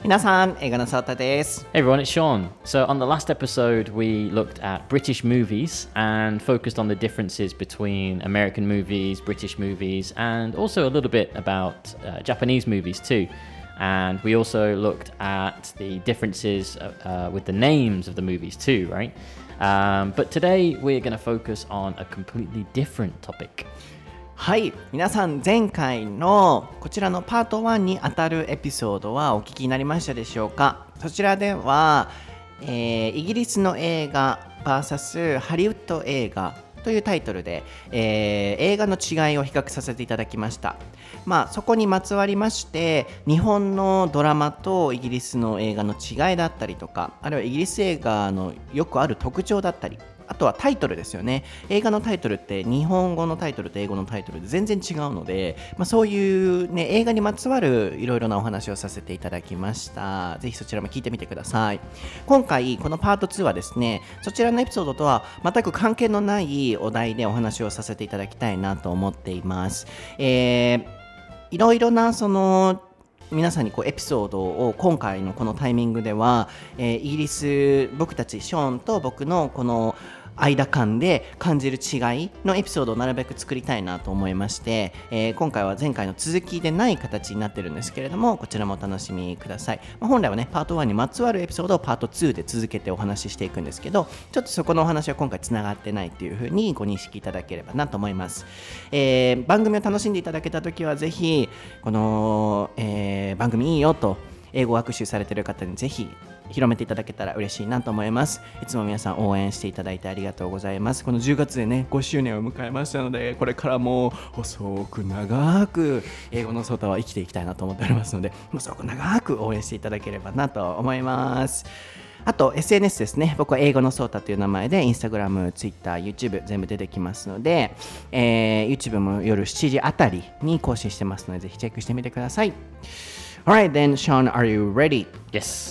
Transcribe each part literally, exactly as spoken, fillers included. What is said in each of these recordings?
皆さん、映画のソータです。 Hey everyone, it's Sean. So on the last episode, we looked at British movies and focused on the differences between American movies, British movies, and also a little bit about uh, Japanese movies too. And we also looked at the differences uh, uh, with the names of the movies too, right? Um, but today we're going to focus on a completely different topic. はい、皆さん前回のこちらのパートワンにあたるエピソードはお聞きになりましたでしょうか。そちらでは、えー、イギリスの映画 ブイエス ハリウッド映画というタイトルで、えー、映画の違いを比較させていただきました。まあそこにまつわりまして日本のドラマとイギリスの映画の違いだったりとか、あるいはイギリス映画のよくある特徴だったり、あとはタイトルですよね。映画のタイトルって日本語のタイトルと英語のタイトルで全然違うので、まあ、そういう、ね、映画にまつわるいろいろなお話をさせていただきました。ぜひそちらも聞いてみてください。今回このパートツーはですね、そちらのエピソードとは全く関係のないお題でお話をさせていただきたいなと思っています。えー、いろいろなその皆さんにこうエピソードを今回のこのタイミングでは、えー、イギリス僕たちショーンと僕のこの間間で感じる違いのエピソードをなるべく作りたいなと思いまして、えー、今回は前回の続きでない形になってるんですけれども、こちらもお楽しみください。まあ、本来はねパートワンにまつわるエピソードをパートツーで続けてお話ししていくんですけど、ちょっとそこのお話は今回つながってないというふうにご認識いただければなと思います。えー、番組を楽しんでいただけたときはぜひこの、えー、番組いいよと英語学習されている方にぜひ広めていただけたら嬉しいなと思います。いつも皆さん応援していただいてありがとうございます。このじゅうがつでねごしゅうねんを迎えましたので、これからも細く長く英語のソータは生きていきたいなと思っておりますので、細く長く応援していただければなと思います。あと エスエヌエス ですね。僕は英語のソータという名前で Instagram、Twitter、YouTube 全部出てきますので、えー、YouTube も夜しちじあたりに更新してますので、ぜひチェックしてみてください。Alright then, Sean, are you ready? Yes.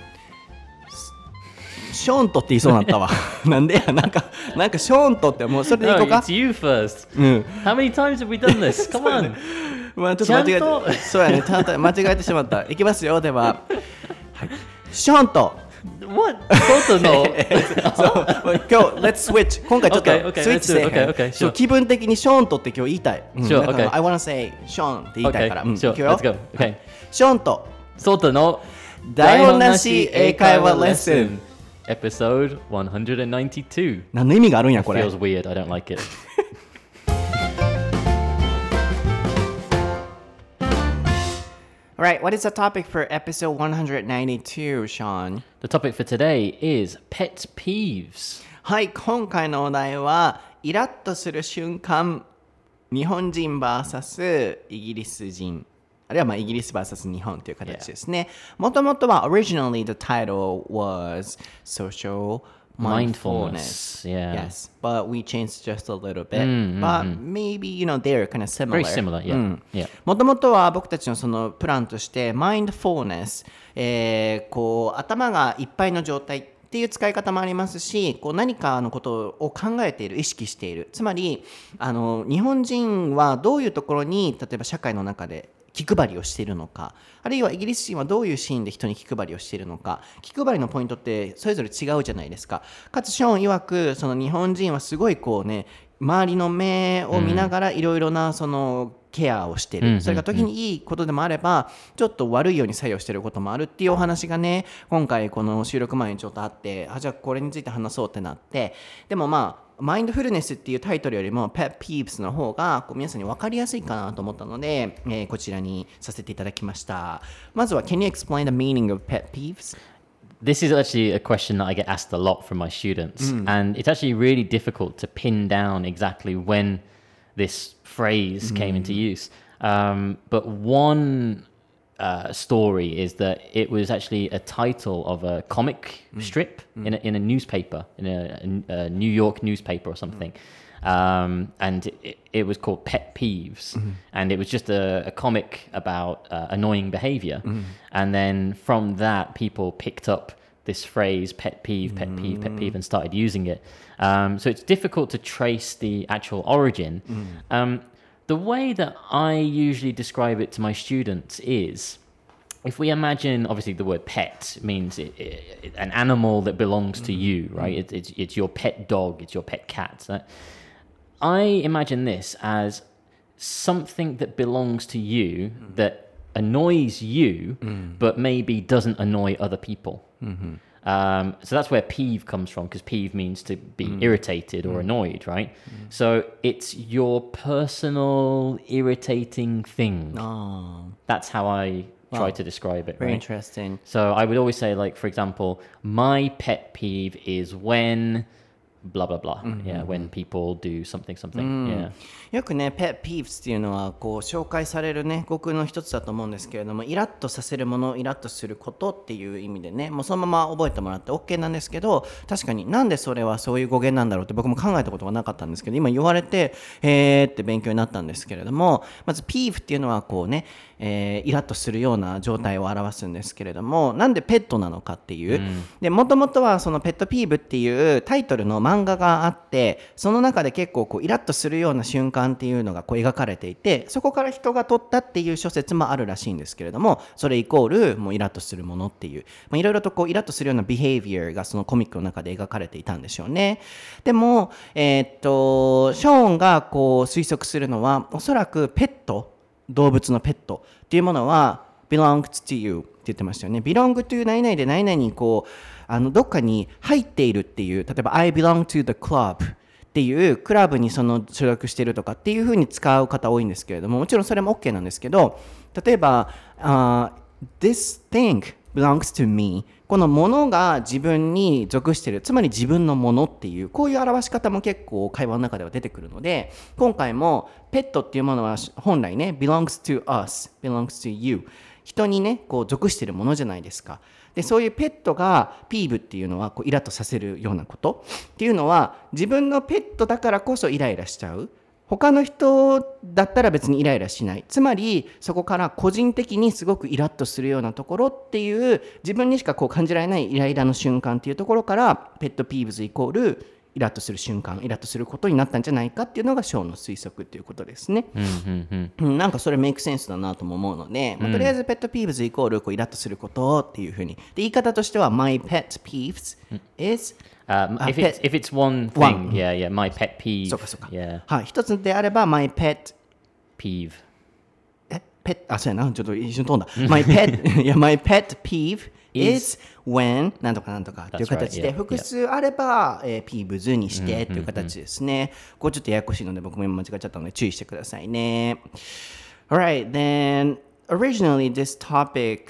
ショーントって言いそうになったわ。なんでや、なんか、なんかショーントってもうそれでいこうか。 No, it's you first. うん。 How many times have we done this? Come on. まあちょっと間違えて、そうやね、ただ間違えてしまった。いきますよ、では。はい、ショーント。 What? そうの。 そう、今日 Let's switch。今回ちょっとスイッチせえへん。 Okay, okay, okay, sure. 気分的にショーントって今日言いたい。うん、 sure, だから okay. I wanna say ショーンって言いたいから。 Okay, うん、 sure. いくよ。 Let's go. Okay. ショーント。 そうの台本なし英会話レッスン。 Episode one ninety-two. 何の意味があるんやこれ。 Feels weird. I don't like it. Alright, what is the topic for episode one ninety-two, Sean? The topic for today is pet peeves. はい、今回のお題はイラッとする瞬間、日本人 ブイエス イギリス人、あるいはまあイギリス ブイエス 日本という形ですね。もともとは originally the title was social mindfulness. Mindfulness, yeah. Yes, but we changed just a little bit. Mm, mm, but mm. maybe, you know, they're kind of similar. Very similar, yeah. うん、 yeah. もともとは僕たちのそのプランとして mindfulness、えー、こう頭がいっぱいの状態っていう使い方もありますし、こう何かのことを考えている、意識している。つまりあの日本人はどういうところに例えば社会の中で気配りをしているのか、あるいはイギリス人はどういうシーンで人に気配りをしているのか、気配りのポイントってそれぞれ違うじゃないですか。かつショーン曰くその日本人はすごいこうね、周りの目を見ながらいろいろなそのケアをしている、うん、それが時にいいことでもあればちょっと悪いように作用していることもあるっていうお話がね、今回この収録前にちょっとあって、あ、じゃあこれについて話そうってなって、でもまあマインドフルネスっていうタイトルよりも Pet Peeves の方がこう皆さんに分かりやすいかなと思ったので、えー、こちらにさせていただきました。まずは Can you explain the meaning of Pet Peeves? This is actually a question that I get asked a lot from my students, mm. and it's actually really difficult to pin down exactly when this phrase mm. came into use. Um, but one uh, story is that it was actually a title of a comic mm. strip mm. in a, in a newspaper, in a, a New York newspaper or something. Mm. Um, and it, it was called Pet Peeves, mm. and it was just a, a comic about uh, annoying behavior. Mm. And then from that, people picked up this phrase, pet peeve, pet peeve, pet peeve, and started using it. Um, so it's difficult to trace the actual origin. Mm. Um, the way that I usually describe it to my students is if we imagine, obviously the word pet means it, it, an animal that belongs to you, right? It, it's, it's your pet dog, it's your pet cat. So I imagine this as something that belongs to you mm. that annoys you, mm. but maybe doesn't annoy other people. Mm-hmm. Um, so that's where peeve comes from, because peeve means to be mm. irritated or mm. annoyed, right? Mm. So it's your personal irritating thing. Oh. That's how I try wow. to describe it. Very right? interesting. So I would always say, like, for example, my pet peeve is when blah blah blah. Mm-hmm. Yeah, when people do something something. Yeah. よくね、pet peeves っていうのはこう紹介されるね語句の一つだと思うんですけれども、イラッとさせるもの、イラッとすることっていう意味でね、もうそのまま覚えてもらって OK なんですけど、確かになんでそれはそういう語源なんだろうって僕も考えたことがなかったんですけど、今言われてへーって勉強になったんですけれども、まず peeve っていうのはこうね、えー、イラッとするような状態を表すんですけれども、なんでペットなのかっていう、うん、でもともとはそのペットピーブっていうタイトルの漫画があって、その中で結構こうイラッとするような瞬間っていうのがこう描かれていて、そこから人が取ったっていう諸説もあるらしいんですけれども、それイコールもうイラッとするものっていう、まあ、いろいろとこうイラッとするようなビヘイビアがそのコミックの中で描かれていたんでしょうね。でも、えー、っとショーンがこう推測するのは、おそらくペット、動物のペットっていうものは belongs to you って言ってましたよね。belong to 何々で何々にこうあのどっかに入っているっていう、例えば I belong to the club っていうクラブにその所属しているとかっていう風に使う方多いんですけれども、もちろんそれも OK なんですけど、例えば、uh, this thing belongs to me、 このものが自分に属している、つまり自分のものっていう、こういう表し方も結構会話の中では出てくるので、今回もペットっていうものは本来ね belongs to us, belongs to you、 人にねこう属しているものじゃないですか。でそういうペットがピーブっていうのはこうイラッとさせるようなことっていうのは、自分のペットだからこそイライラしちゃう、他の人だったら別にイライラしない、つまりそこから個人的にすごくイラッとするようなところっていう、自分にしかこう感じられないイライラの瞬間っていうところから、ペットピーブズイコールイラッとする瞬間、イラッとすることになったんじゃないかっていうのがショーの推測っていうことですね。うんうんうん、なんかそれメイクセンスだなとも思うので、まあ、とりあえずペットピーブズイコールこうイラッとすることっていうふうに、で言い方としては My pet peeves is、 Um, if, it's, if it's one thing, one. yeah, yeah, my pet peeve. そうかそうか。 Yeah. はい、一つであれば my pet peeve。 え、ペット、あ、そうやな、ちょっと一瞬飛んだ。my pet、いや、my pet peeve is when なんとかなんとかっていう形で、複数あれば、えー、ピーブズにしてっていう形ですね。これちょっとややこしいので僕も今間違っちゃったので注意してくださいね。Alright, then originally this topic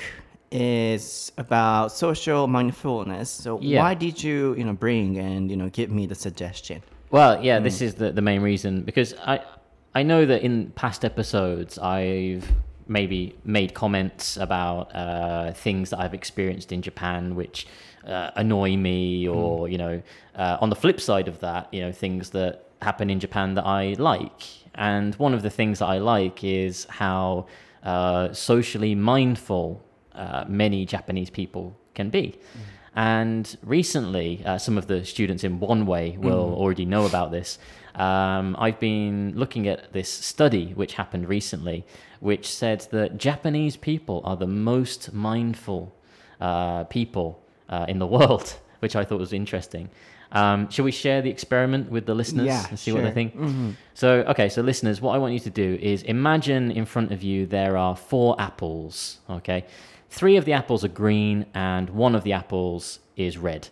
is about social mindfulness. So yeah. why did you, you know, bring and, you know, give me the suggestion? Well, yeah, mm. this is the, the main reason, because I I know that in past episodes I've maybe made comments about uh, things that I've experienced in Japan which uh, annoy me, or, mm. you know, uh, on the flip side of that, you know, things that happen in Japan that I like. And one of the things that I like is how uh, socially mindful Uh, many Japanese people can be. Mm. And recently, uh, some of the students in One Way will mm. already know about this. Um, I've been looking at this study which happened recently, which said that Japanese people are the most mindful uh, people uh, in the world, which I thought was interesting. Um, shall we share the experiment with the listeners yeah, and see sure. what they think? Mm-hmm. So, okay, so listeners, what I want you to do is imagine in front of you there are four apples, okay? Three of the apples are green and one of the apples is red.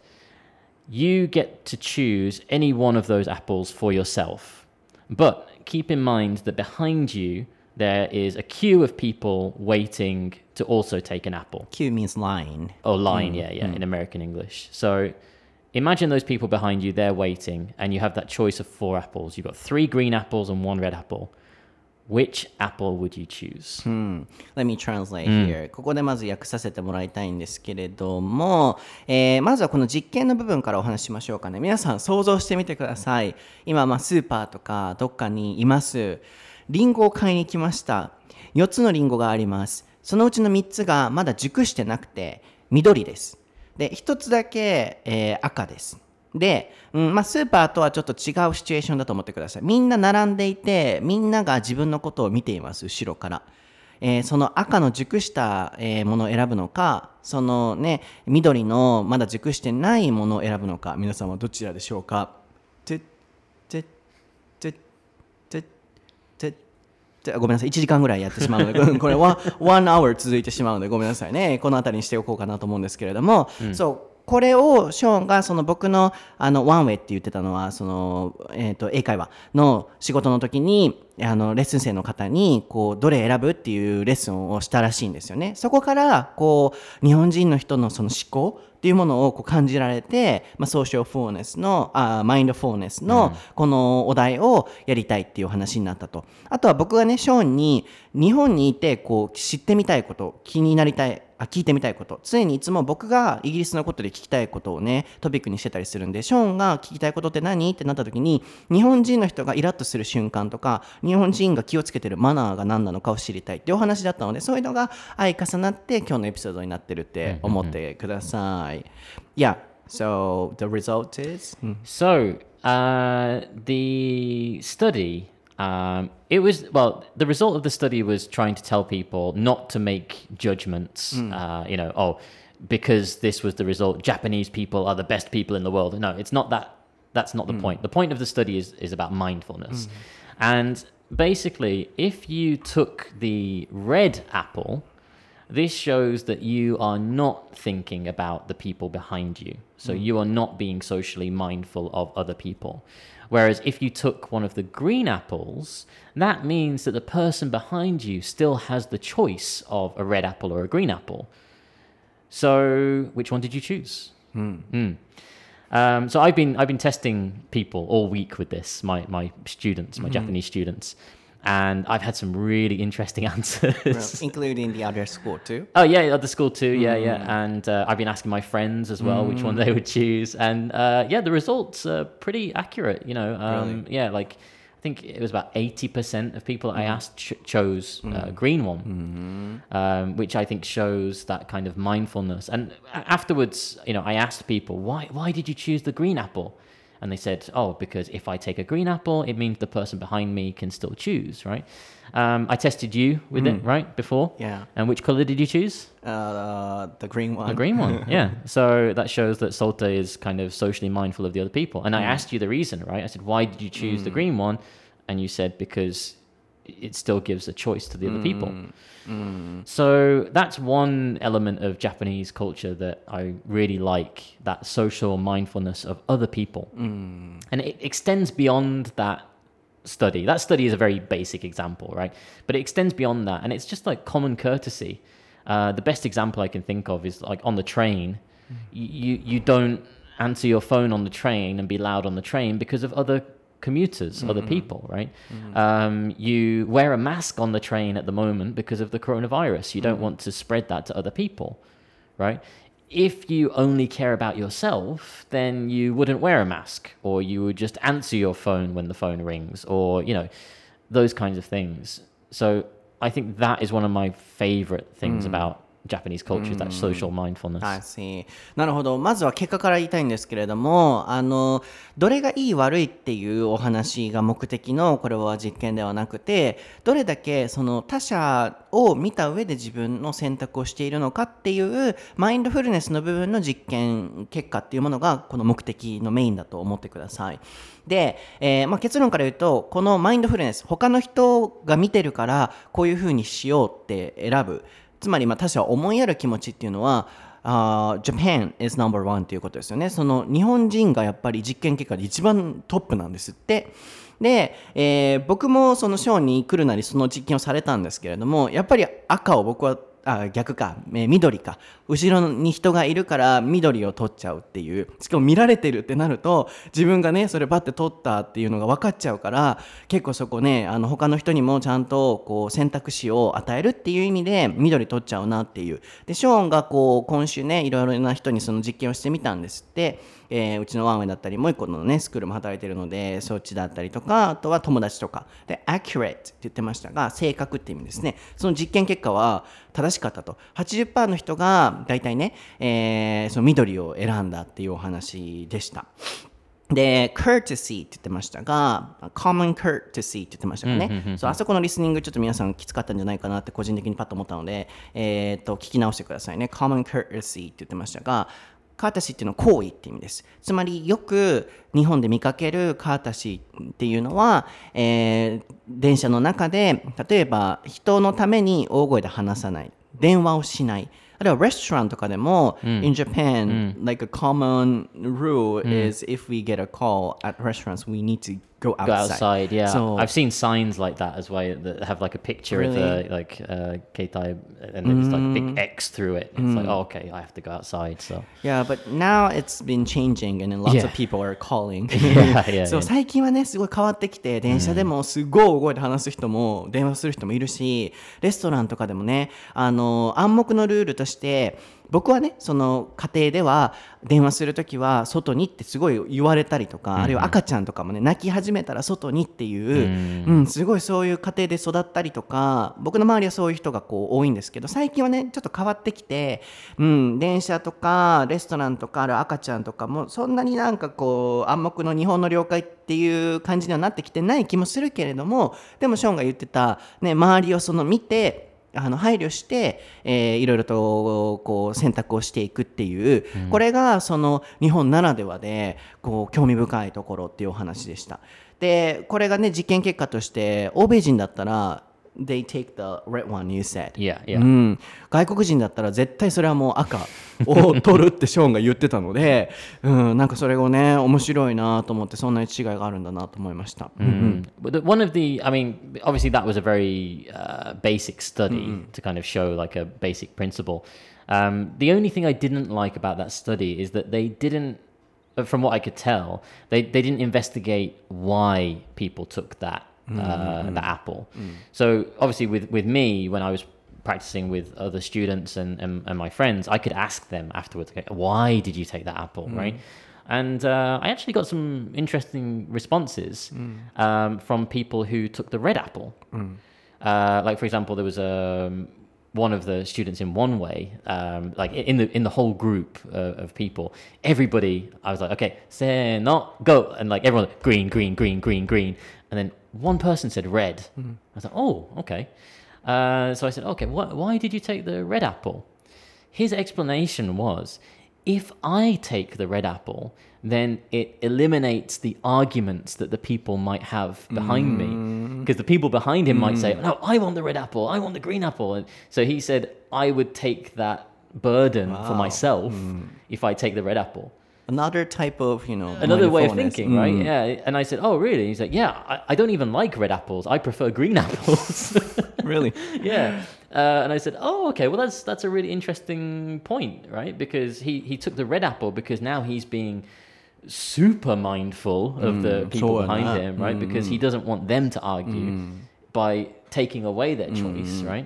You get to choose any one of those apples for yourself. But keep in mind that behind you there is a queue of people waiting to also take an apple. Queue means line. Oh, line, mm. yeah, yeah, mm. in American English. So imagine those people behind you, they're waiting, and you have that choice of four apples. You've got three green apples and one red apple.Which apple would you choose? Hmm. Let me translate here. ここでまず訳させてもらいたいんですけれども、えー、まずはこの実験の部分からお話ししましょうかね。皆さん想像してみてください。今、まあ、スーパーとかどっかにいます。リンゴを買いに来ました。よっつのリンゴがあります。そのうちのみっつがまだ熟してなくて緑です。で、ひとつだけ、えー、赤です。で、うんまあ、スーパーとはちょっと違うシチュエーションだと思ってください。みんな並んでいて、みんなが自分のことを見ています、後ろから。 えー、その赤の熟した、えー、ものを選ぶのか、そのね緑のまだ熟してないものを選ぶのか、皆さんはどちらでしょうか。ててててててごめんなさい、いちじかんぐらいやってしまうのでこれはワンアワー続いてしまうのでごめんなさいね。この辺りにしておこうかなと思うんですけれども、うん、そうこれをショーンがその僕のあのワンウェイって言ってたのはその、えー、と英会話の仕事の時にあのレッスン生の方にこうどれ選ぶっていうレッスンをしたらしいんですよね。そこからこう日本人の人のその思考っていうものをこう感じられて、まあ、ソーシャルフォーネスのあマインドフォーネスのこのお題をやりたいっていう話になったと。あとは僕がねショーンに日本にいてこう知ってみたいこと、気になりたいあ聞いてみたいこと、常にいつも僕がイギリスのことで聞きたいことをねトピックにしてたりするんで、ショーンが聞きたいことって何ってなった時に日本人の人がイラッとする瞬間とか日本人が気をつけてるマナーが何なのかを知りたいっていうお話だったので、そういうのが相重なって今日のエピソードになってるって思ってください。Yeah, so the result is? So, uh, the study, um, it was, well, the result of the study was trying to tell people not to make judgments, mm. uh, you know, oh, because this was the result, Japanese people are the best people in the world. No, it's not that. That's not the mm. point. The point of the study is, is about mindfulness. Mm. And basically, if you took the red apple, this shows that you are not thinking about the people behind you. So mm. you are not being socially mindful of other people. Whereas if you took one of the green apples, that means that the person behind you still has the choice of a red apple or a green apple. So which one did you choose? Mm. Mm. Um, so I've been I've been testing people all week with this, my my students, my mm-hmm. Japanese students. And I've had some really interesting answers. Well, including the other school too? Oh, yeah, other school too, yeah, mm. yeah. And uh, I've been asking my friends as well mm. which one they would choose. And uh, yeah, the results are pretty accurate, you know. Um, really? Yeah, like I think it was about eighty percent of people mm. I asked ch- chose mm. uh, green one, mm-hmm. um, which I think shows that kind of mindfulness. And afterwards, you know, I asked people, why, why did you choose the green apple? And they said, oh, because if I take a green apple, it means the person behind me can still choose, right? Um, I tested you with mm. it, right, before? Yeah. And which color did you choose? Uh, the green one. The green one, yeah. So that shows that Solta is kind of socially mindful of the other people. And mm. I asked you the reason, right? I said, why did you choose mm. the green one? And you said, because it still gives a choice to the other mm. people. Mm. So that's one element of Japanese culture that I really like, that social mindfulness of other people. Mm. And it extends beyond that study. That study is a very basic example, right? But it extends beyond that, and it's just like common courtesy. Uh, the best example I can think of is like on the train. Mm. You, you don't answer your phone on the train and be loud on the train because of other commuters, mm-hmm. other people, right? Mm-hmm. Um, you wear a mask on the train at the moment because of the coronavirus. You don't mm-hmm. want to spread that to other people, right? If you only care about yourself, then you wouldn't wear a mask, or you would just answer your phone when the phone rings, or, you know, those kinds of things. So I think that is one of my favorite things mm-hmm. about Japanese culture, that social mindfulness. I see. なるほど。まずは結果から言いたいんですけれども、あのどれがいい悪いっていうお話が目的のこれは実験ではなくて、どれだけその他者を見た上で自分の選択をしているのかっていうマインドフルネスの部分の実験結果っていうものがこの目的のメインだと思ってください。で、えーまあ、結論から言うと、このマインドフルネス、他の人が見てるからこういうふうにしようって選ぶ。つまりまあ他者を思いやる気持ちっていうのは、uh, Japan is number one っていうことですよね。その日本人がやっぱり実験結果で一番トップなんですって。で、えー、僕もそのショーに来るなりその実験をされたんですけれども、やっぱり赤を僕はあ逆か、えー、緑か、後ろに人がいるから緑を取っちゃうっていう、しかも見られてるってなると自分がねそれバッて取ったっていうのが分かっちゃうから、結構そこねあの他の人にもちゃんとこう選択肢を与えるっていう意味で緑取っちゃうなっていう。でショーンがこう今週ねいろいろな人にその実験をしてみたんですって。えー、うちのワンウェイだったりもう一個のねスクールも働いてるのでそっちだったりとか、あとは友達とかで accurate って言ってましたが、正確って意味ですね。その実験結果は正しかったと。 はちじゅっパーセント の人がだいたいね、えー、その緑を選んだっていうお話でした。 で、courtesy って言ってましたが、common courtesy って言ってましたかね。そう、あそこのリスニングちょっと皆さんきつかったんじゃないかなって個人的にパッと思ったので、えー、と聞き直してくださいね。common courtesy って言ってましたが、カータシーっていうのは行為って意味です。つまりよく日本で見かけるカータシーっていうのは、えー、電車の中で例えば人のために大声で話さない、電話をしない。あるいはレストランとかでも、mm. in Japan,、mm. like a common rule、mm. is if we get a call at restaurants, we need to go outside. Go outside, yeah. So, I've seen signs like that as well that have like a picture really? of the like uh, keitai and there's mm. like a big X through it. It's mm. like, oh, okay, I have to go outside. So yeah, but now it's been changing and lots、yeah. of people are calling. yeah, yeah, そう、最近はねすごい変わってきて、電車でもすごい大声で話す人も電話する人もいるし、レストランとかでもね、あの暗黙のルールとして僕はね、その家庭では電話するときは外にってすごい言われたりとか、うん、あるいは赤ちゃんとかもね泣き始めたら外にっていう、うんうん、すごいそういう家庭で育ったりとか、僕の周りはそういう人がこう多いんですけど、最近はねちょっと変わってきて、うん、電車とかレストランとかある赤ちゃんとかもそんなになんかこう暗黙の日本の了解っていう感じにはなってきてない気もするけれども、でもショーンが言ってた、ね、周りをその見てあの配慮して、えー、いろいろとこう選択をしていくっていう、うん、これがその日本ならではでこう興味深いところっていうお話でした。でこれがね実験結果として欧米人だったらThey take the red one, you said. Yeah, yeah. うん、外国人だったら絶対それはもう赤を取るってショーンが言ってたので、うん、なんかそれをね面白いなと思って、そんな違いがあるんだなと思いました。 Mm. But the, one of the, I mean, obviously that was a very uh, basic study mm-hmm. to kind of show like a basic principle. Um, the only thing I didn't like about that study is that they didn't, from what I could tell, they, they didn't investigate why people took that. Uh, mm-hmm. the apple. Mm. So obviously with, with me, when I was practicing with other students and, and, and my friends, I could ask them afterwards, okay, why did you take that apple, mm. right? And uh, I actually got some interesting responses mm. um, from people who took the red apple. Mm. Uh, like for example, there was um, one of the students in one way, um, like in the in the whole group uh, of people, everybody, I was like, okay, say no, go, and like everyone, green, green, green, green, green, and then one person said red. Mm. I was like, oh, okay. Uh, so I said, okay, wh- why did you take the red apple? His explanation was, if I take the red apple, then it eliminates the arguments that the people might have behind mm. me. Because the people behind him mm. might say, no, I want the red apple, I want the green apple. And so he said, I would take that burden wow. for myself mm. if I take the red apple. Another type of, you know, another way of thinking, mm. right? Yeah. And I said, oh, really? He's like, yeah, I, I don't even like red apples. I prefer green apples. Really? Yeah. Uh, and I said, oh, okay, well, that's that's a really interesting point, right? Because he, he took the red apple because now he's being super mindful of mm, the people so behind him, right? Mm. Because he doesn't want them to argue mm. by taking away their choice, mm. right?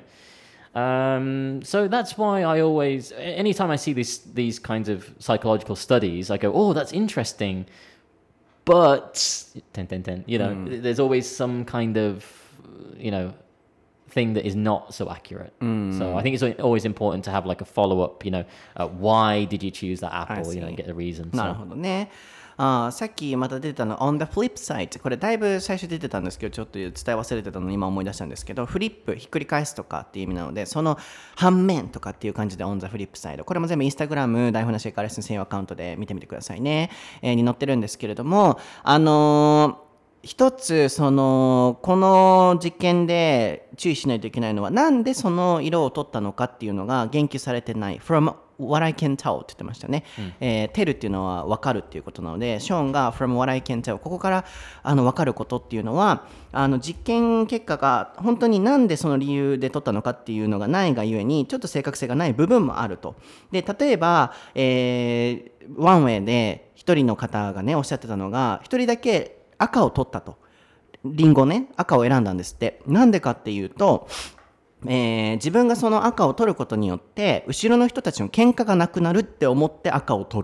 Um, so that's why I always, anytime I see these these kinds of psychological studies, I go, oh, that's interesting, but ten, ten, ten, you know, mm. there's always some kind of, you know, thing that is not so accurate. Mm. So I think it's always important to have like a follow up, you know, uh, why did you choose that apple, you know, and get the reason. なるほどね。あさっきまた出てたの on the flip side、 これだいぶ最初出てたんですけどちょっと伝え忘れてたのに今思い出したんですけど、フリップひっくり返すとかっていう意味なので、その反面とかっていう感じで on the flip side、 これも全部インスタグラム台本なしエカレッスン専用アカウントで見てみてくださいね、えー、に載ってるんですけれども、あのー一つそのこの実験で注意しないといけないのは、なんでその色を取ったのかっていうのが言及されてない。 From what I can tell って言ってましたね、うんえー、tell っていうのは分かるっていうことなので、ショーンが From what I can tell、 ここからあの分かることっていうのは、あの実験結果が本当になんでその理由で取ったのかっていうのがないがゆえにちょっと正確性がない部分もあると。で例えば、えー、ワンウェイで一人の方がねおっしゃってたのが、一人だけ赤を取ったと。リンゴね、赤を選んだんですって。なんでかっていうと、えー、自分がその赤を取ることによって後ろの人たちの喧嘩がなくなるって思って赤を取る。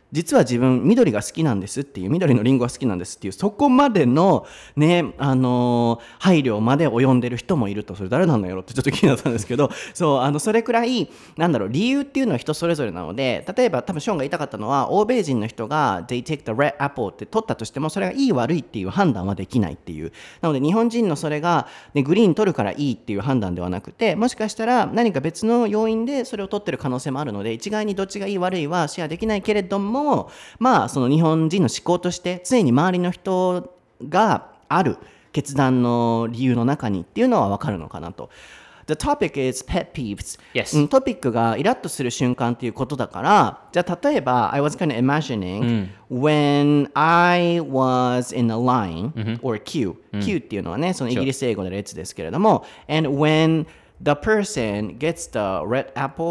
実は自分緑が好きなんですっていう、緑のリンゴが好きなんですっていう、そこまでのね、あのー配慮まで及んでる人もいると。それ誰なんだろうってちょっと気になったんですけど、そう、あのそれくらいなんだろう、理由っていうのは人それぞれなので、例えば多分ショーンが言いたかったのは、欧米人の人が they take the red apple って取ったとしても、それがいい悪いっていう判断はできないっていう。なので日本人のそれが、ね、グリーン取るからいいっていう判断ではなくて、もしかしたら何か別の要因でそれを取ってる可能性もあるので、一概にどっちがいい悪いはシェアできないけれども、まあその日本人の思考として常に周りの人がある決断の理由の中にっていうのは分かるのかなと。The topic is pet peeves. Yes. うん、トピックがイラッとする瞬間っていうことだから、じゃあ例えば I was kind of imagining、when I was in a line、or queue、queue、っていうのはね、そのイギリス英語の列ですけれども、and when the person gets the red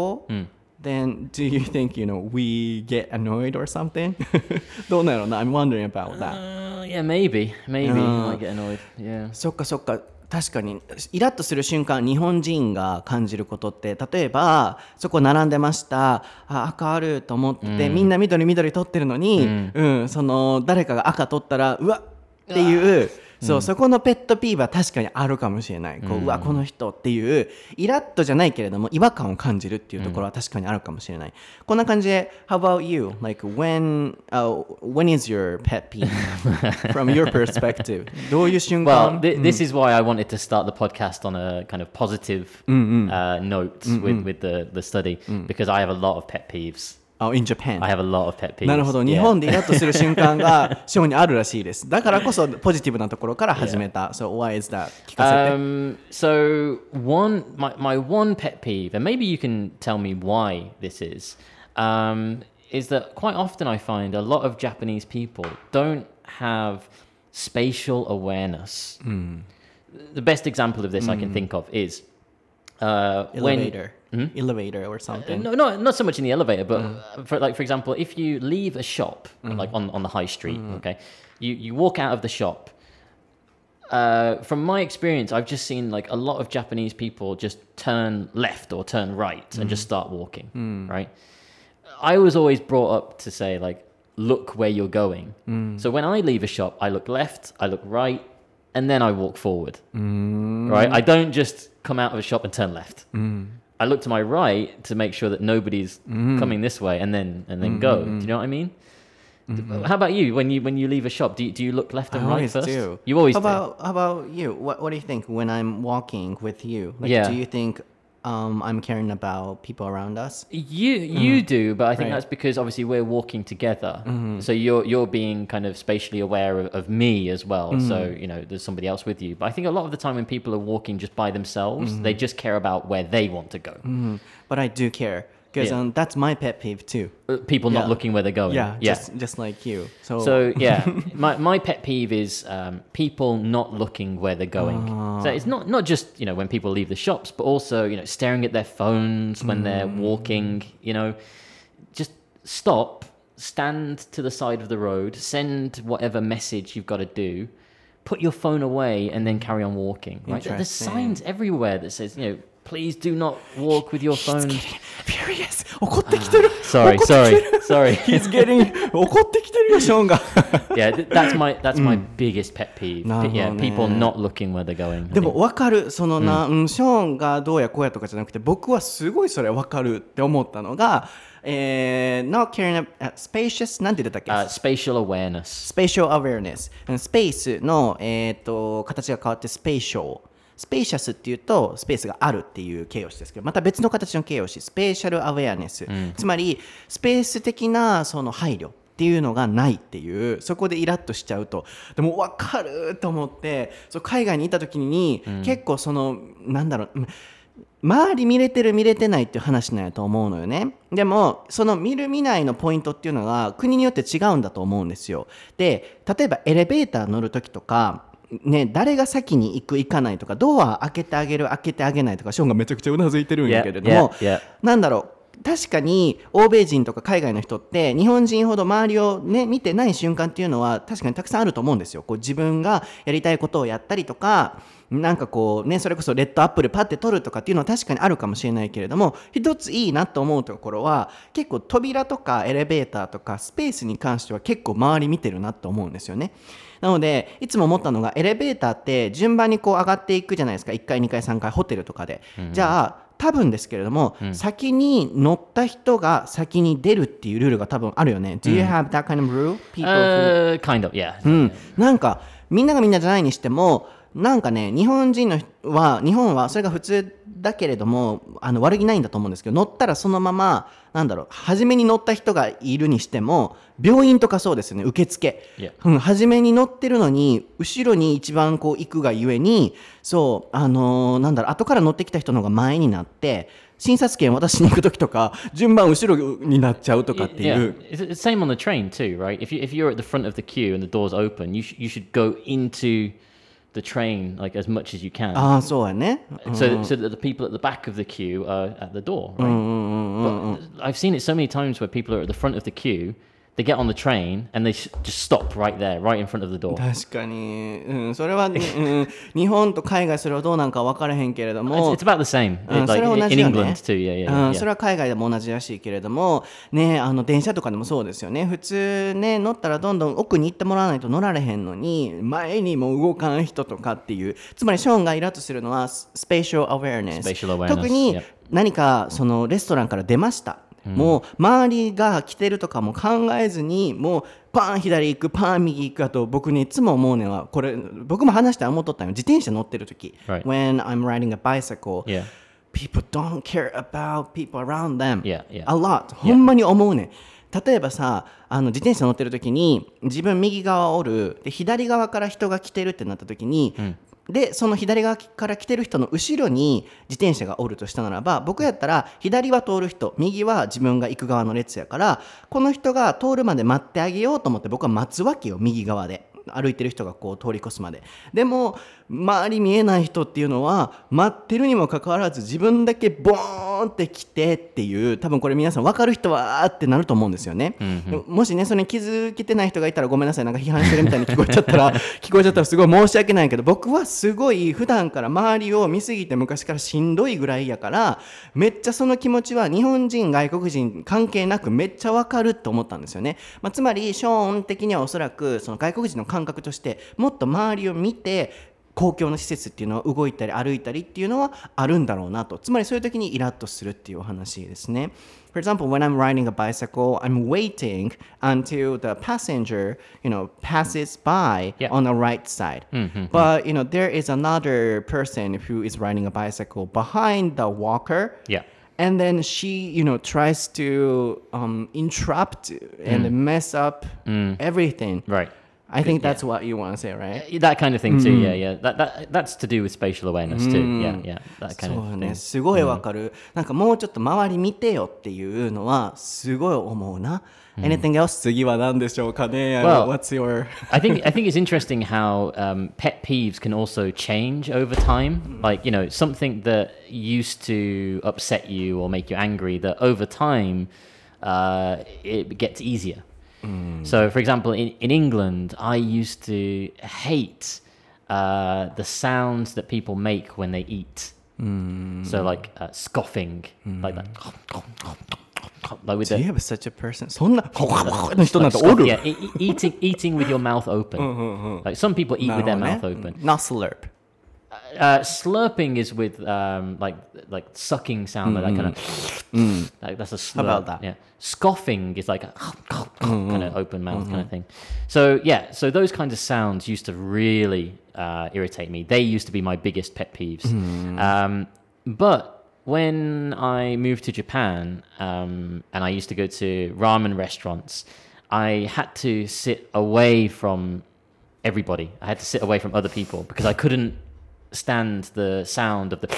apple、then do you think, you know, we get annoyed or something? どうなのな I'm wondering about that. Uh, yeah, maybe. Maybe I might get annoyed. Yeah. そっかそっか。確かにイラッとする瞬間、日本人が感じることって、例えばそこ並んでました、あ赤あると思って、みんな緑緑取ってるのに、うんその誰かが赤取ったらうわっっていう、そう、そこのペットピーは確かにあるかもしれない。こう、うわこの人っていうイラッとじゃないけれども違和感を感じるっていうところは確かにあるかもしれない。こんな感じで How about you? Like when、uh, when is your pet peeve from your perspective? どういう瞬間 Well, th- this is why I wanted to start the podcast on a kind of positive uh, note with, with the, the study, because I have a lot of pet peeves. Oh, in Japan. I have a lot of pet peeves. なるほど、日本でイラッとする瞬間がショーにあるらしいです。だからこそポジティブなところから始めた。So why is that? 聞かせて。 Um, so one, my, my one pet peeve, and maybe you can tell me why this is, um, is that quite often I find a lot of Japanese people don't have spatial awareness. The best example of this I can think of is uh, when Elevator. Elevator or something. no, not not so much in the elevator, but uh, for like for example, if you leave a shop like on, on the high street, okay, you you walk out of the shop. Uh, from my experience, I've just seen like a lot of Japanese people just turn left or turn right and just start walking. Right. I was always brought up to say like, look where you're going. So when I leave a shop, I look left, I look right, and then I walk forward. Right. I don't just come out of a shop and turn left. I look to my right to make sure that nobody's coming this way, and then and then go. Do you know what I mean? How about you? When you when you leave a shop, do you, do you look left and I right always first? do. You always how do. about how about you? What what do you think when I'm walking with you? Like, Yeah. do you think um, I'm caring about people around us? You you do, but I think Right. that's because obviously we're walking together. So you're you're being kind of spatially aware of, of me as well. So you know there's somebody else with you. But I think a lot of the time when people are walking just by themselves, they just care about where they want to go. But I do care because Yeah. um, that's my pet peeve too. Uh, People not Yeah. looking where they're going. Yeah, yeah. just just like you. So, So yeah, my my pet peeve is um, people not looking where they're going. So it's not not just you know when people leave the shops, but also you know staring at their phones when they're walking. You know, just stop, stand to the side of the road, send whatever message you've got to do, put your phone away, and then carry on walking. Right? There- There's Interesting. signs everywhere that says you know. Please do not walk with your phone. furious. 怒ってきてる。 Sorry, 怒ってきてる sorry, sorry. He's getting 怒ってきてるよショーンが。 Yeah, th- that's my that's my biggest pet peeve. なるほどね。 Yeah, people not looking where they're going. I でも think. 分かるそのな、うん、ショーンがどうやこうやとかじゃなくて僕はすごいそれ分かるって思ったのが、えー、not caring about spacious なんて言ってたっけ、 Uh, spatial awareness. spatial awareness スペースの、えー、と形が変わってスペーシャルスペーシャスっていうとスペースがあるっていう形容詞ですけど、また別の形の形容詞スペーシャルアウェアネス、つまりスペース的なその配慮っていうのがないっていう、そこでイラッとしちゃうと。でも分かると思って、そう海外にいた時に、うん、結構そのなんだろう、周り見れてる見れてないっていう話なんやと思うのよね。でもその見る見ないのポイントっていうのが国によって違うんだと思うんですよ。で例えばエレベーター乗る時とかね、誰が先に行く行かないとか、ドア開けてあげる開けてあげないとか、ショーンがめちゃくちゃうなずいてるんやけれども、 yeah, yeah, yeah. なんだろう、 確かに欧米人とか海外の人って日本人ほど周りをね見てない瞬間っていうのは確かにたくさんあると思うんですよ。こう自分がやりたいことをやったりとか、なんかこうね、それこそレッドアップルパッて取るとかっていうのは確かにあるかもしれないけれども、一ついいなと思うところは結構扉とかエレベーターとかスペースに関しては結構周り見てるなと思うんですよね。なのでいつも思ったのが、エレベーターって順番にこう上がっていくじゃないですか。いっかいにかいさんかいホテルとかで、うん、じゃあ多分ですけれども、うん、先に乗った人が先に出るっていうルールが多分あるよね。 Do you have that kind of rule? People who... Uh, kind of, yeah、 うん、なんかみんながみんなじゃないにしても、なんかね、日本人のは日本はそれが普通だけれども、あの悪気ないんだと思うんですけど、乗ったらそのままなんだろう、初めに乗った人がいるにしても、病院とかそうですよね、受付、yeah. うん、初めに乗ってるのに後ろに一番こう行くがゆえに、そうあのー、なんだろう、後から乗ってきた人の方が前になって診察券渡しに行く時とか順番後ろになっちゃうとかっていう。 Yeah. It's the same on the train too, right? If you if you're at the front of the queue and the doors open, you sh- you should go into the train like as much as you can. ああ、そうやね。 So, so that the people at the back of the queue are at the door, right? But I've seen it so many times where people are at the front of the queue, they get on the train and they sh- just stop right there, right in front of the door. 確かに、うん、それは、うん、日本と海外それはどうなんか分からへんけれども、 It's, it's about the same. うん、 like それは同じよね。 in England too, yeah, yeah, うん、 yeah. それは海外でも同じらしいけれどもね、あの電車とかでもそうですよね。普通ね、乗ったらどんどん奥に行ってもらわないと乗られへんのに、前にも動かん人とかっていう、つまりショーンがイラッとするのはスペシャルアウェアネス。 Spatial awareness, 特に何かそのレストランから出ました、もう周りが来てるとかも考えずに、もうパン左行くパン右行く。あと僕ね、いつも思うのはこれ、僕も話して思っとったのよ。自転車乗ってる時、 right. When I'm riding a bicycle、 yeah. people don't care about people around them、 yeah, yeah. a lot、 ほんまに思うね。例えばさ、あの自転車乗ってる時に自分右側おるで、左側から人が来てるってなった時に、うん、でその左側から来てる人の後ろに自転車がおるとしたならば、僕やったら左は通る人、右は自分が行く側の列やから、この人が通るまで待ってあげようと思って僕は待つわけよ。右側で歩いてる人がこう通り越すまで。でも周り見えない人っていうのは待ってるにもかかわらず自分だけボーンって来てっていう、多分これ皆さん分かる人はーってなると思うんですよね、うんうん、もしねそれに気づけてない人がいたらごめんなさい。なんか批判してるみたいに聞こえちゃったら聞こえちゃったらすごい申し訳ないけど、僕はすごい普段から周りを見すぎて昔からしんどいぐらいやから、めっちゃその気持ちは日本人外国人関係なくめっちゃ分かると思ったんですよね、まあ、つまりショーン的にはおそらくその外国人の感覚としてもっと周りを見て公共の施設っていうのは動いたり歩いたりっていうのはあるんだろうなと。つまりそういう時にイラッとするっていうお話ですね。For example, when I'm riding a bicycle, I'm waiting until the passenger, you know, passes by yeah. on the right side. Mm-hmm. But, you know, there is another person who is riding a bicycle behind the walker. Yeah. And then she, you know, tries to um, interrupt and mm. mess up mm. everything. Right.I think that's yeah. what you want to say, right? That kind of thing too, yeah, yeah. That, that, that's to do with spatial awareness too, yeah, yeah. That kind of thing. そうね、すごいわかる。なんかもうちょっと周り見てよっていうのはすごい思うな。Anything else? 次は何でしょうかね。 Well, What's your? I think I think it's interesting how um, pet peeves can also change over time. Like, you know, something that used to upset you or make you angry, that over time uh, it gets easier.So, for example, in, in England, I used to hate uh, the sounds that people make when they eat. Mm. So, like uh, scoffing, mm. like that. Like with Do the, you have such a person? そんなの人なんておる? Yeah, e- eating, eating with your mouth open. Like some people eat with their mouth open. Not slurp. Uh, slurping is with um, like like sucking sound, mm-hmm. like that kind of. Mm. Like that's a slurp. How about that? Yeah. Scoffing is like a mm-hmm. kind of open mouth mm-hmm. kind of thing. So yeah, so those kinds of sounds used to really uh, irritate me. They used to be my biggest pet peeves. Mm-hmm. Um, but when I moved to Japan um, and I used to go to ramen restaurants, I had to sit away from everybody. I had to sit away from other people because I couldn't.stand the sound of the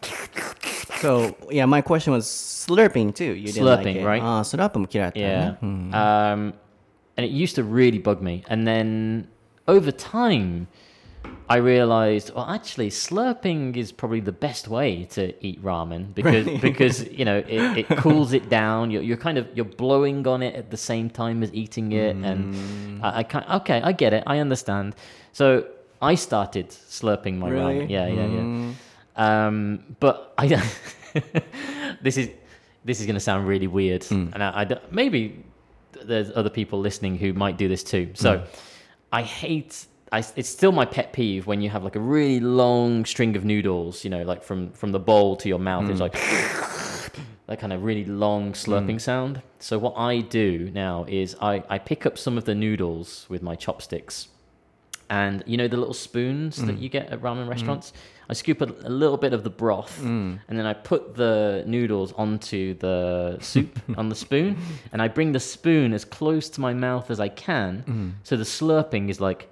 So yeah, my question was slurping too. You didn't slurping, like it. right? Ah, slurpも嫌いだったね。 Yeah. Hmm. Um, and it used to really bug me. And then over time, I realized, well, actually, slurping is probably the best way to eat ramen because Really? because you know it, it cools it down. You're, you're kind of you're blowing on it at the same time as eating it, and I, I can't. Okay, I get it. I understand. So I started slurping my Really? ramen. Yeah, yeah, yeah. Um, but I this is this is going to sound really weird, and I, I don't- maybe there's other people listening who might do this too. So I hate. I, it's still my pet peeve when you have like a really long string of noodles, you know, like from, from the bowl to your mouth. It's like that kind of really long slurping sound. So what I do now is I, I pick up some of the noodles with my chopsticks. And you know the little spoons that you get at ramen restaurants? I scoop a, a little bit of the broth and then I put the noodles onto the soup on the spoon. And I bring the spoon as close to my mouth as I can. So the slurping is like...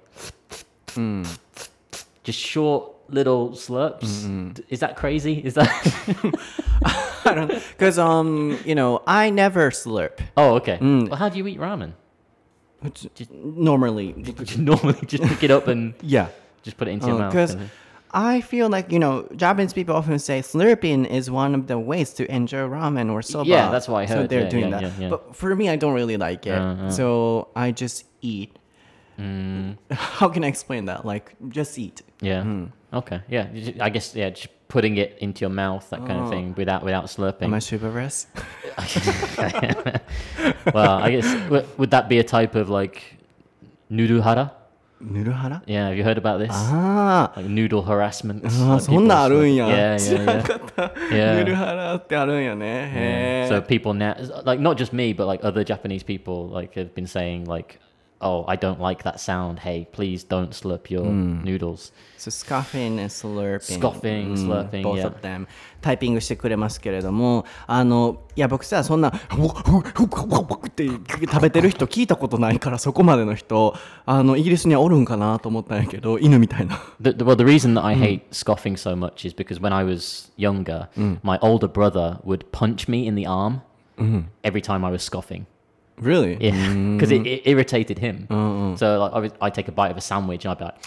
just short little slurps. Mm-hmm. Is that crazy? Is that? I don't because um you know I never slurp. Oh, okay. Mm. Well, how do you eat ramen? Just, normally, just normally just pick it up and yeah, just put it into uh, your mouth. Because I feel like you know Japanese people often say slurping is one of the ways to enjoy ramen or soba. Yeah, that's why I heard. So they're yeah, doing yeah, that. Yeah, yeah. But for me, I don't really like it. Uh-huh. So I just eat. Mm. How can I explain that? Like, just eat. Yeah. Mm. Okay. Yeah. I guess, yeah, just putting it into your mouth, that kind oh. of thing, without without slurping. Am I chivalrous? Well, I guess, would, would that be a type of, like, nuruhara? Nuruhara? Yeah, have you heard about this? Ah. Like noodle harassment. あ、そんなあるんや。 Yeah, yeah, 知らなかった。 Yeah. ヌルハラってあるんやね。へ So people now, like, not just me, but, like, other Japanese people, like, have been saying, like, oh, I don't like that sound. Hey, please don't slurp your mm. noodles. So scoffing and slurping. Scoffing, mm, slurping, both yeah. of them. タイピングしてくれますけれども、あのいや僕さそんなって食べてる人聞いたことないからそこまでの人あのイギリスにはおるんかなと思ったんやけど犬みたいな。 The, the, well, the reason that I hate mm. scoffing so much is because when I was younger, mm. my older brother would punch me in the arm mm. every time I was scoffing. Really? Yeah, because mm. it, it irritated him. Uh-uh. So like, I would, I'd take a bite of a sandwich and I'd be like,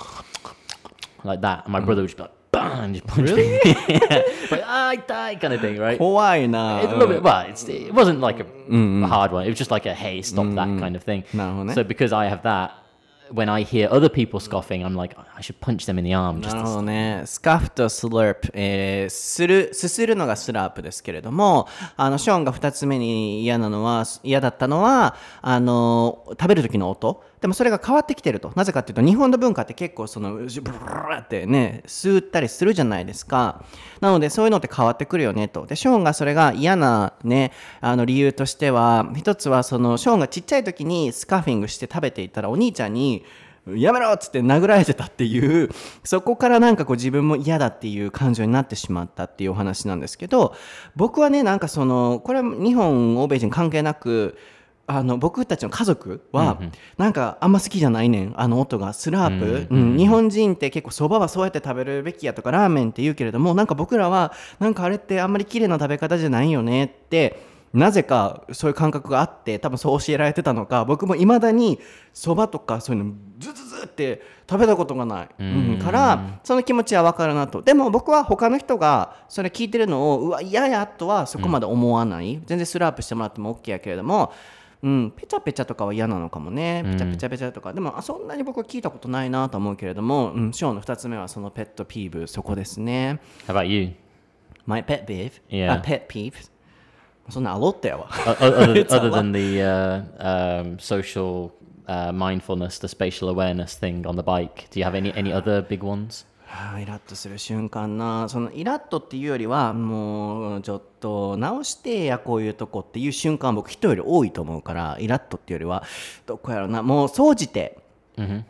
like that, and my mm. brother would just be like, bang, just punch really? me. Yeah. Like, I die kind of thing, right? 怖いな。 It's a little bit, well, it's, it wasn't like a, mm. a hard one. It was just like a, hey, stop mm. that kind of thing. なるほどね。 So because I have that, when I hear other people scoffing, I'm like, I should punch them in the arm. なるほどね。スカフとスラープ、えー、する、すするのがスラープですけれども、あのショーンが二つ目に嫌なのは、嫌だったのは、あの食べる時の音。でもそれが変わってきてると。なぜかっていうと、日本の文化って結構そのブルーってね、吸ったりするじゃないですか。なのでそういうのって変わってくるよねと。で、ショーンがそれが嫌なね、あの理由としては、一つはそのショーンがちっちゃい時にスカフィングして食べていたらお兄ちゃんにやめろっつって殴られてたっていう、そこからなんかこう自分も嫌だっていう感情になってしまったっていうお話なんですけど、僕はねなんかそのこれは日本欧米人関係なく、あの僕たちの家族はなんかあんま好きじゃないねん、あの音がスラープ、うんうん、日本人って結構そばはそうやって食べるべきやとかラーメンって言うけれども、なんか僕らはなんかあれってあんまり綺麗な食べ方じゃないよねってなぜかそういう感覚があって、多分そう教えられてたのか、僕もいまだにそばとかそういうのズズズって食べたことがない、うん、からその気持ちは分かるなと。でも僕は他の人がそれ聞いてるのをうわ嫌やとはそこまで思わない、うん、全然スラープしてもらっても OK やけれども、うん、ペチャペチャとかは嫌なのかもね。ペチャペチャペチャとか、うん、でもそんなに僕は聞いたことないなと思うけれども、うん、ショーのふたつめはそのペットピーブ、そこですね。 How about you? My pet peeve? Yeah. A pet peeve? そんなあろったやわ。 other, other than the uh, um, social uh, mindfulness, the spatial awareness thing on the bike, do you have any, any other big ones? イラッとする瞬間な、そのイラッとっていうよりはもうちょっと直してやこういうとこっていう瞬間僕人より多いと思うから、イラッとっていうよりはどこやろうな、もう総じて、mm-hmm.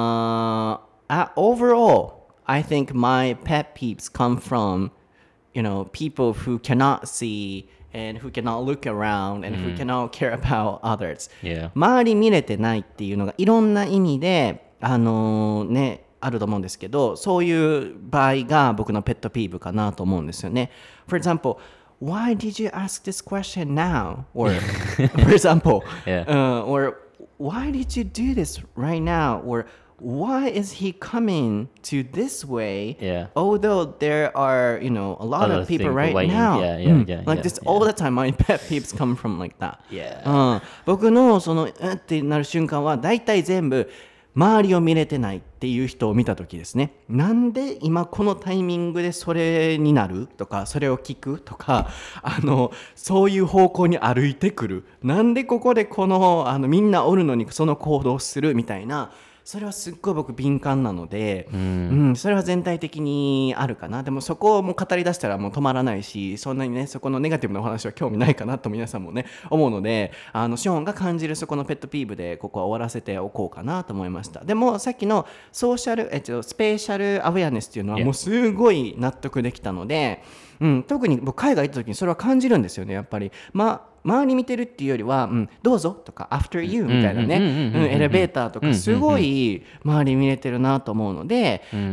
uh, overall I think my pet peeves come from you know people who cannot see and who cannot look around and who cannot care about others、yeah. 周り見れてないっていうのがいろんな意味であのー、ねあると思うんですけど、そういう場合が僕のペットピーブかなと思うんですよね。For example, why did you ask this question now? Or for example, yeah. uh, or why did you do this right now? Or why is he coming to this way? Yeah. Although there are, you know, a lot A lot of of people people right waiting. now. Yeah, yeah, Mm. yeah, Like yeah, this yeah. all the time. My pet peeves come from like that. Yeah. うん、僕のそのうんってなる瞬間は大体全部周りを見れてないっていう人を見た時ですね。なんで今このタイミングでそれになるとか、それを聞くとか、あのそういう方向に歩いてくる。なんでここでこのあのみんなおるのにその行動をするみたいな。それはすっごい僕敏感なので、うん、それは全体的にあるかな。でもそこをもう語り出したらもう止まらないし、そんなにねそこのネガティブなお話は興味ないかなと皆さんもね思うので、あのショーンが感じるそこのペットピーブでここは終わらせておこうかなと思いました。でもさっきのソーシャル、えっと、スペシャルアウェアネスっていうのはもうすごい納得できたので、うん、特に僕海外行った時にそれは感じるんですよねやっぱり。まあ周り見てるっていうよりは、うん、どうぞとか after you みたいなね、エレベーターとかすごい周り見れてるなと思うので、うん、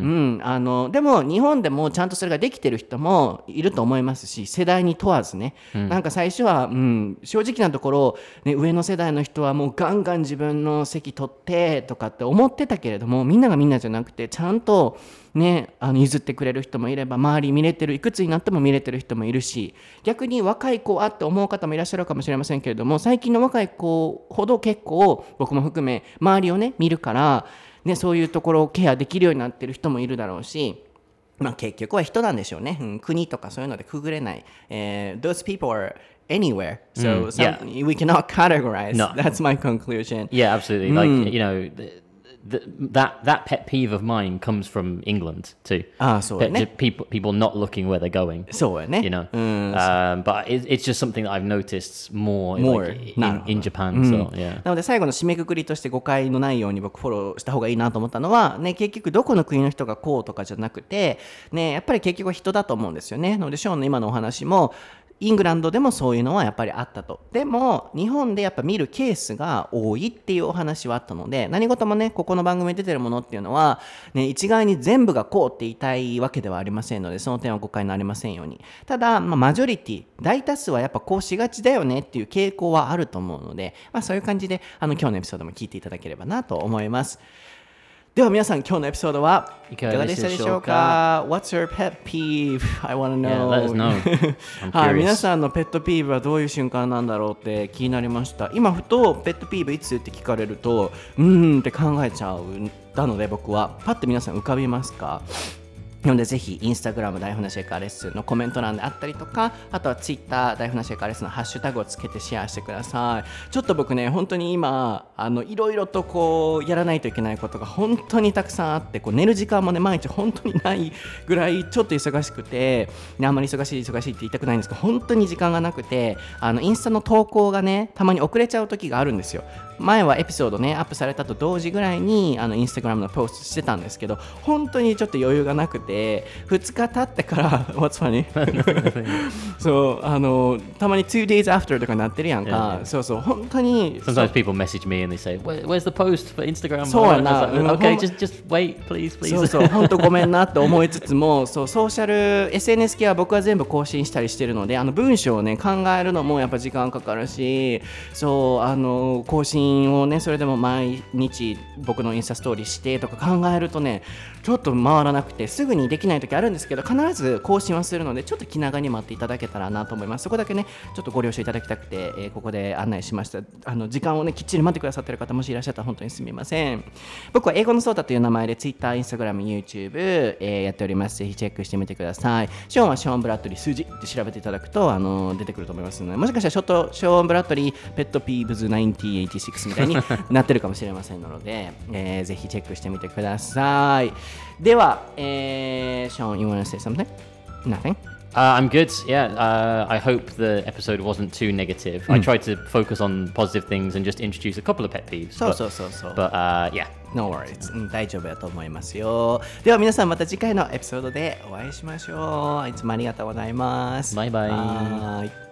あのでも日本でもちゃんとそれができてる人もいると思いますし、世代に問わずね、うん、なんか最初は、うん、正直なところ、ね、上の世代の人はもうガンガン自分の席取ってとかって思ってたけれども、みんながみんなじゃなくてちゃんとね、あの譲ってくれる人もいれば、周り見れてるいくつになっても見れてる人もいるし、逆に若い子はって思う方もいらっしゃるかもしれませんけれども、最近の若い子ほど結構僕も含め周りをね見るから、ね、そういうところをケアできるようになってる人もいるだろうし、まあ、結局は人なんでしょうね、うん、国とかそういうのでくぐれない、えー、Those people are anywhere, so、mm, some, yeah. we cannot categorize. No. That's my conclusion. Yeah, absolutely. Mm. Like, you know, the, that that pet peeve of mine comes from England too. ああ、そうね。 People people not looking where they're going. そうやね。 You know, um, but it, it's just something that I've noticed more, more like, in, in Japan. So yeah. なので最後の締めくくりとして誤解のないように僕フォローした方がいいなと思ったのはね、結局どこの国の人がこうとかじゃなくてね、やっぱり結局は人だと思うんですよね。なのでショーンの今のお話も。イングランドでもそういうのはやっぱりあったと。でも日本でやっぱ見るケースが多いっていうお話はあったので、何事もねここの番組に出てるものっていうのは、ね、一概に全部がこうって言いたいわけではありませんので、その点は誤解になりませんように。ただ、まあ、マジョリティ大多数はやっぱこうしがちだよねっていう傾向はあると思うので、まあ、そういう感じであの今日のエピソードも聞いていただければなと思います。では皆さん今日のエピソードはいかがでしたでしょうか？ What's your pet peeve? I want to know. Yeah, let us know. I'm はい、 curious. 皆さんのペットピーブはどういう瞬間なんだろうって気になりました。今ふとペットピーブいつって聞かれるとうーんって考えちゃうなので、僕はパッて皆さん浮かびますか？なのでぜひインスタグラム大船シェイカーレッスンのコメント欄であったりとか、あとはツイッター大船シェイカーレッスンのハッシュタグをつけてシェアしてください。ちょっと僕ね本当に今あのいろいろとこうやらないといけないことが本当にたくさんあって、こう寝る時間もね毎日本当にないぐらいちょっと忙しくて、ね、あんまり忙しい忙しいって言いたくないんですけど、本当に時間がなくて、あのインスタの投稿がねたまに遅れちゃう時があるんですよ。前はエピソードねアップされたと同時ぐらいにあのインスタグラムのポストしてたんですけど、本当にちょっと余裕がなくてふつか経ってからWhat's funny? そうあのたまに two days after とかなってるやんか、yeah, yeah. そうそう本当に Sometimes people message me and they say Where, Where's the post for Instagram? そうやな、 like, Okay, just, just wait please please そうそう本当ごめんなって思いつつもそうソーシャル エスエヌエス 系は僕は全部更新したりしてるので、あの文章をね考えるのもやっぱ時間かかるし、そうあの更新をねそれでも毎日僕のインスタストーリーしてとか考えるとねちょっと回らなくてすぐにできない時あるんですけど、必ず更新はするのでちょっと気長に待っていただけたらなと思います。そこだけねちょっとご了承いただきたくて、えー、ここで案内しました。あの時間をねきっちり待ってくださってる方もしいらっしゃったら本当にすみません。僕は英語のソータという名前で Twitter、Instagram、YouTube、えー、やっております。ぜひチェックしてみてください。ショーンはショーン・ブラッドリー数字って調べていただくとあの出てくると思いますので、もしかしたらちょっとショーン・ブラッドリーペットピーブズせんきゅうひゃくはちじゅうろくみたいになってるかもしれませんので、えー、ぜひチェックしてみてください。では、えー、ショーン、you wanna say something? Nothing? Uh, I'm good. Yeah, uh, I hope the episode wasn't too negative. Mm. I tried to focus on positive things and just introduce a couple of pet peeves. そうそうそうそう。 But, but uh, yeah. No worries. うん、大丈夫だと思いますよ。では皆さんまた次回のエピソードでお会いしましょう。いつもありがとうございます。 バイバイ。 はい。